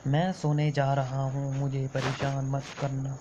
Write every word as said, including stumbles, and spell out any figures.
मैं सोने जा रहा हूँ, मुझे परेशान मत करना।